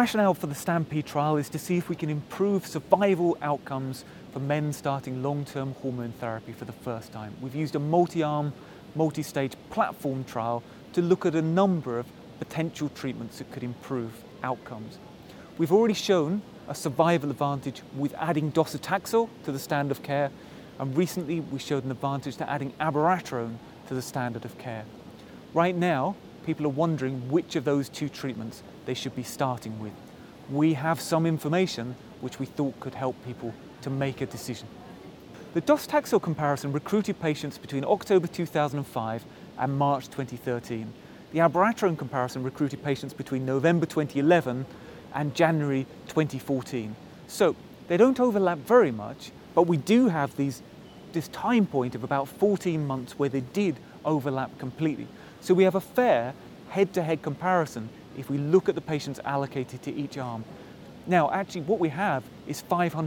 rationale for the STAMPEDE trial is to see if we can improve survival outcomes for men starting long-term hormone therapy for the first time. We've used a multi-arm, multi-stage platform trial to look at a number of potential treatments that could improve outcomes. We've already shown a survival advantage with adding docetaxel to the standard of care, and recently we showed an advantage to adding abiraterone to the standard of care. Right now, people are wondering which of those two treatments they should be starting with. We have some information which we thought could help people to make a decision. The docetaxel comparison recruited patients between October 2005 and March 2013. The abiraterone comparison recruited patients between November 2011 and January 2014. So they don't overlap very much, but we do have this time point of about 14 months where they did overlap completely. So we have a fair head-to-head comparison if we look at the patients allocated to each arm. Now, actually, what we have is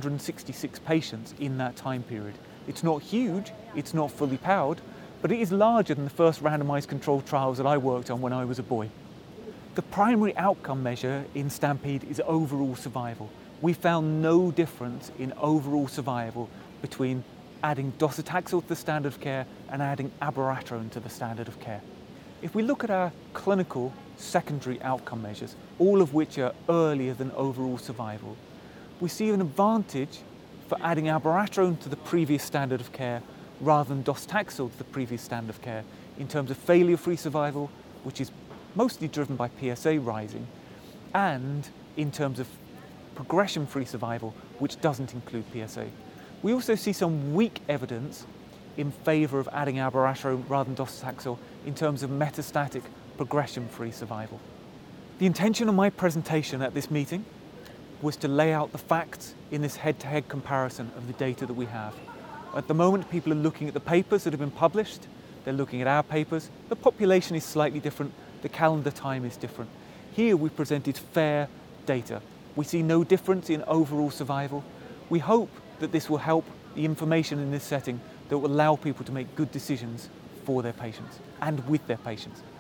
566 patients in that time period. It's not huge, it's not fully powered, but it is larger than the first randomized controlled trials that I worked on when I was a boy. The primary outcome measure in STAMPEDE is overall survival. We found no difference in overall survival between adding docetaxel to the standard of care and adding abiraterone to the standard of care. If we look at our clinical secondary outcome measures, all of which are earlier than overall survival, we see an advantage for adding abiraterone to the previous standard of care rather than docetaxel to the previous standard of care in terms of failure-free survival, which is mostly driven by PSA rising, and in terms of progression-free survival, which doesn't include PSA. We also see some weak evidence in favour of adding abiraterone rather than docetaxel in terms of metastatic progression-free survival. The intention of my presentation at this meeting was to lay out the facts in this head-to-head comparison of the data that we have. At the moment, people are looking at the papers that have been published, they're looking at our papers. The population is slightly different, the calendar time is different. Here we presented fair data. We see no difference in overall survival. We hope that this will help the information in this setting that will allow people to make good decisions for their patients and with their patients.